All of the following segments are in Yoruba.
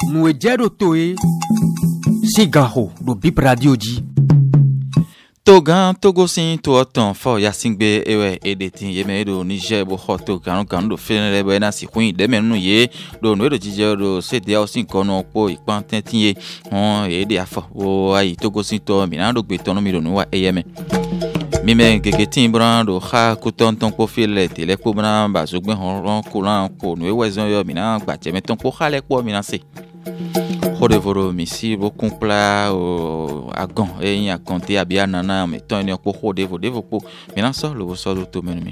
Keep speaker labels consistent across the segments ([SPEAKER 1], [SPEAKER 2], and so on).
[SPEAKER 1] Nous ejero toe Sigaho do Bip Radio di.
[SPEAKER 2] Togan Togosin to oton fo yasingbe ewe editing yeme do Niger bo hoto kan do fenere bo na si hun de menu ye do no do jije do cd o sin kono po ipan tentin ye on e de afo o ayi Togosin to mi na do gbe ton mi do no wa eyeme mi me gege tin bran do kha ko ton po file tele po bran ba so gbe hon ko lan ko no e wezon yo mi na gba je me ton po khale po mi na se Rodevoro misi bo compla o agon e a compter a bien nana mais ton ne ko rodevo po maintenant ça le so do to menumi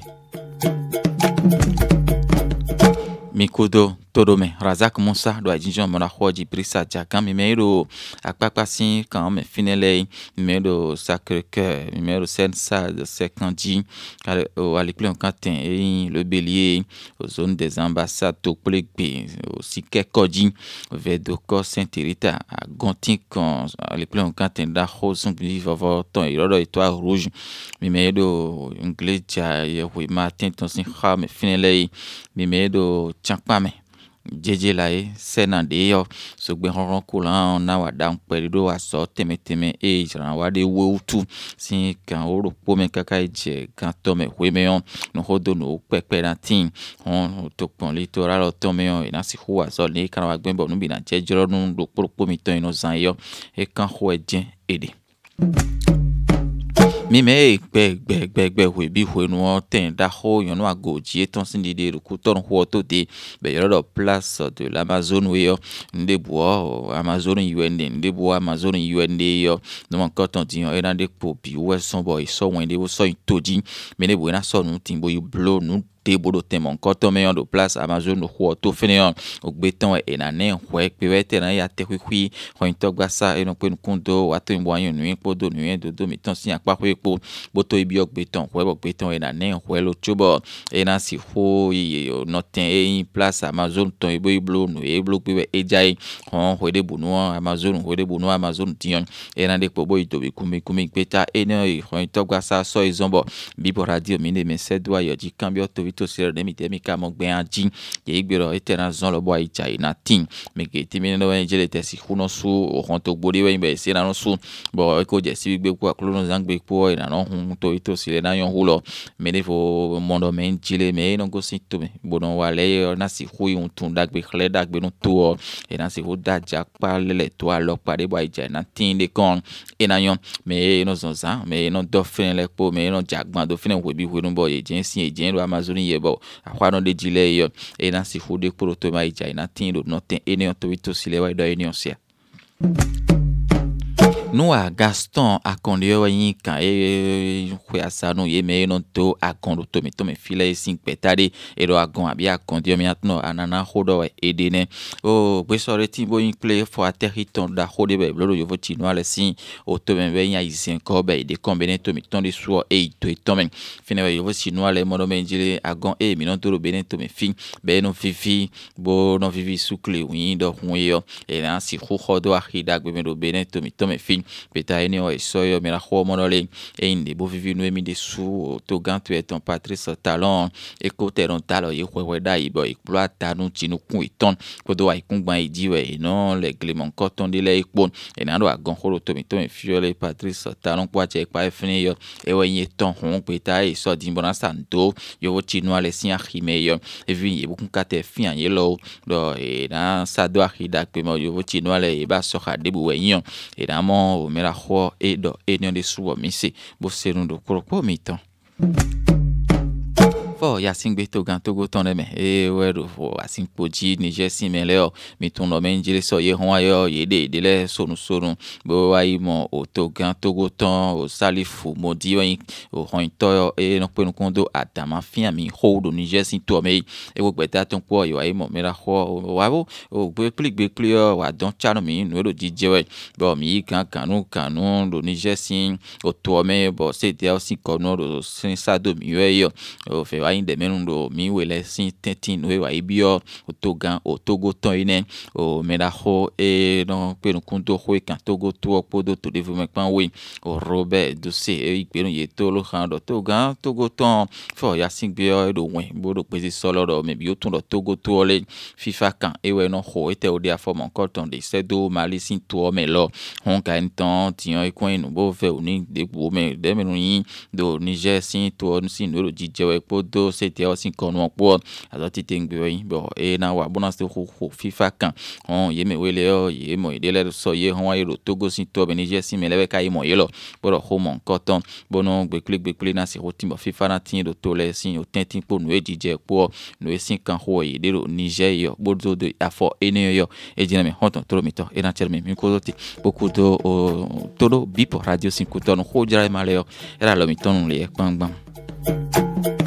[SPEAKER 2] Mikodo Todome Razak Moussa do Adinjon mona hoji brisa jakam meiro akpapasin quand me finele meiro Sacré-Cœur meiro Sensa de Sekandi à l'école en Cantin et le Bélier aux zones des ambassades to Plegbe aussi Kekodji Vedoko Saint-Rita à Gontin quand à l'école en Cantin da Roson vivre ton et étoile rouge meiro anglais ja oui matin ton sin me finele meiro champame jeje lai senande yo so gbe ronron kulan na wa dan perido aso temeteme e ran wa de wo tu sin kan oro po me kaka je kan to me we me on no hodo no pepe na tin on to pon litoral to me on na si huwa so ni kan wa gbe bo nu bi na je joro nu do po mi ton ino zan yo e kan ho ejen ede mi me gbe we bi we no ten da ho yon no agoji eton sin de ku ton ho to de be yoro place de l'Amazon we yo nde bo Amazon UND nde bo Amazon UND yo no man ko ton ti yon e na de po bi we son boy so wen de wo so toji me ne bo na so nu tin bo you blow nu te bodo temon koto me yon do place Amazon no ho to finion ogbeton e na ne hwe pe wete na ya te kwi ho into gbasa e no pe nkundo wa to nbo ayon nu po do nu en do mi ton si apa ko epo boto ibi ogbeton hwe ogbeton e na ne hwe lo chobo e na si ho yi no ten e place Amazon ton ibo iblo nu e blo pe e jai ho hwe de bunu Amazon hwe de bunu Amazon tion e na de po boy to bi kumi peta e no ho into gbasa so izombo Bipo Radio mi ne me sedwa yo ji cambio to to ser de mi temi ka mo gbe anjin ye igbero etena zon lo boy chai na tin me ke timi no en jele tesi kuno su o hon to gbori we be se na no su bo ko je si gbe ku aklo no zangbe po ina no hun to sile na yon hulo me ne fo mondo men jile me no go si to me bo no wale na si hu un tun dagbe khle dagbe no to e na si hu da jak pa le to alo pa de boy chai na tin de kon e na yon me no zon za me no do fin le po me no jagban do fin we bi we no boy je sin e je Amazon yebo akwa no de jile yo e na si fu de proto mai jai na tin do no ten ene on to sile wa do ene on sia nous a Gaston a kondio yin kan e kwasa no ye me no to a kondo to me file sin petade e do agon abi a kondio mi atno anana hodo e dene o gbe sore tin bo yin play for territon da hode be blodo yo voti no ale sin o to me nya isen ko be de combiner to mi ton de so e to to men fine yo voti no ale modo men jile agon e mi non to benen to me fin be no fifi bo no vivi sukle yin do hun yo e na si hodo a hida gbe me do benen to me fin peta ene o soyo mera ho monole e inde bo vivi no emi de su to gantu eton Patrice Talon e ko teron talo ye hwe da ibo exploita nu tinu kun iton ko do ai kun gban idiwe non le glemon coton de le ipon e na do agon horo to mi fiole Patrice Talon kwa che pa fini yo e we yin ton hon peta e so di bona santo yo tinu ale sin ahime yo e vi ye bukun kate fian ye lo do e na sa do ahida pe mo yo tinu ale e ba so ha debu we yin e na mo o mera ho e do e nyon de suo mi se bo serun do koropo mi ton fo ya singbe to gan to go ton me e we do fo asin poji Niger sin me le o mi ton no men jile so ye hon ayo ye de le sonu bo wa yi mo o to gan to go ton o salifu mo di wen o hon to e no pe no kondo atama fin mi ho do Niger sin to me e wo gbe ta ton po yo ayi mo mera ho wa bo o gbe pli wa don chano mi no do jije we bo mi kan kanu do Niger sin o to me bo se dia aussi kono do sin sa do mi yo o fe wa inde menundo mi wele sin tentin we wa ibio otogan otogo ton ine o medaho e no pe kunto ho kan togo to opodo to development pan we o Robert Dosé e igbenu ye to lo kan do togan togo ton fo ya sin bio do wen bodo pezi solo do me bio ton do togo to le FIFA kan e we no ho ete o dia form encore ton de sedo mali sin to me lo on ka enton tian e coin no bo fe oni de bo me de me no yin do Niger sin to sin no jije we podo c'était aussi kon won po azoti tengbe yin bo e na wa bona se ho FIFA kan on ye me wele o ye mo de le so ye hon wa yo Togo sin to be Niger sin me le ka mo ye lo bo ho mon koton bono gbe na se roti mo FIFA na tin do to le sin o tentin po no e jije po no e sin kan ho ye de lo Niger yo bodo de afo ene yo e jina me honton to mi to e na cherme mi ko zoti beaucoup do todo bipo radio 5 ton ho jara maleo era lo mi ton le pang bang